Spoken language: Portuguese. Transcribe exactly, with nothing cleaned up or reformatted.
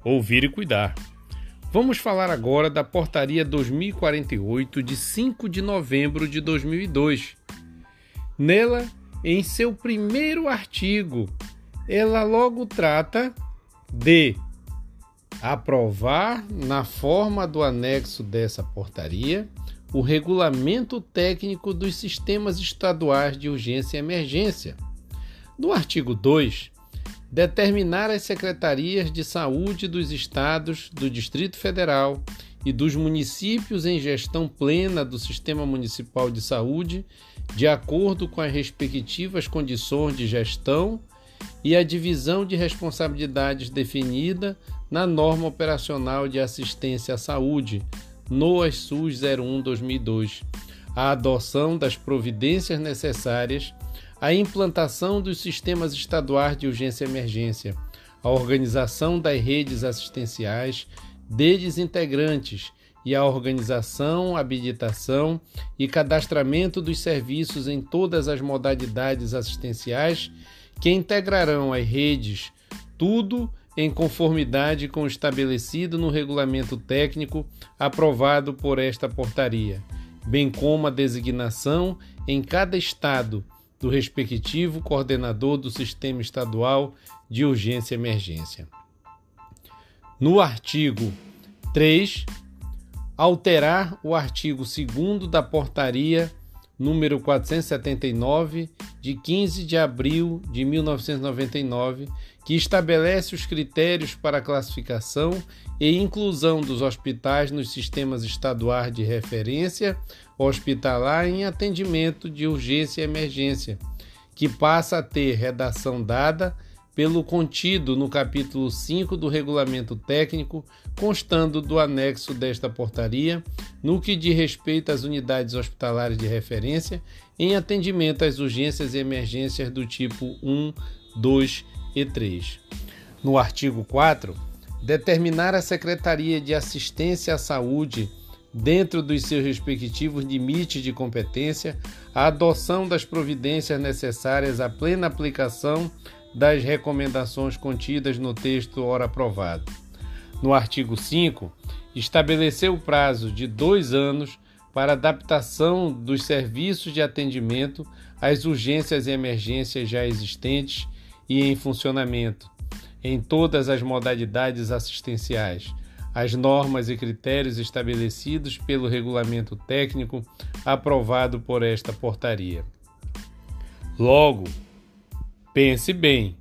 ouvir e cuidar. Vamos falar agora da Portaria dois mil e quarenta e oito, de cinco de novembro de dois mil e dois. Nela, em seu primeiro artigo, ela logo trata de aprovar, na forma do anexo dessa portaria, o regulamento técnico dos sistemas estaduais de urgência e emergência. No artigo dois, determinar as secretarias de saúde dos estados, do Distrito Federal e dos municípios em gestão plena do Sistema Municipal de Saúde, de acordo com as respectivas condições de gestão e a divisão de responsabilidades definida na Norma Operacional de Assistência à Saúde, NOAS-SUS zero um barra dois mil e dois, a adoção das providências necessárias à implantação dos sistemas estaduais de urgência e emergência, a organização das redes assistenciais deles integrantes e a organização, habilitação e cadastramento dos serviços em todas as modalidades assistenciais que integrarão as redes, tudo em conformidade com o estabelecido no regulamento técnico aprovado por esta portaria, bem como a designação em cada estado do respectivo coordenador do Sistema Estadual de Urgência e Emergência. No artigo três, alterar o artigo segundo da Portaria número quatrocentos e setenta e nove, de quinze de abril de mil novecentos e noventa e nove, que estabelece os critérios para a classificação e inclusão dos hospitais nos sistemas estaduais de referência hospitalar em atendimento de urgência e emergência, que passa a ter redação dada pelo contido no capítulo cinco do Regulamento Técnico, constando do anexo desta portaria, no que diz respeito às unidades hospitalares de referência em atendimento às urgências e emergências do tipo um, dois e três. No artigo quatro, determinar a Secretaria de Assistência à Saúde, dentro dos seus respectivos limites de competência, a adoção das providências necessárias à plena aplicação das recomendações contidas no texto ora aprovado. No artigo cinco, estabeleceu o prazo de dois anos para adaptação dos serviços de atendimento às urgências e emergências já existentes e em funcionamento, em todas as modalidades assistenciais, as normas e critérios estabelecidos pelo regulamento técnico aprovado por esta portaria. Logo, pense bem,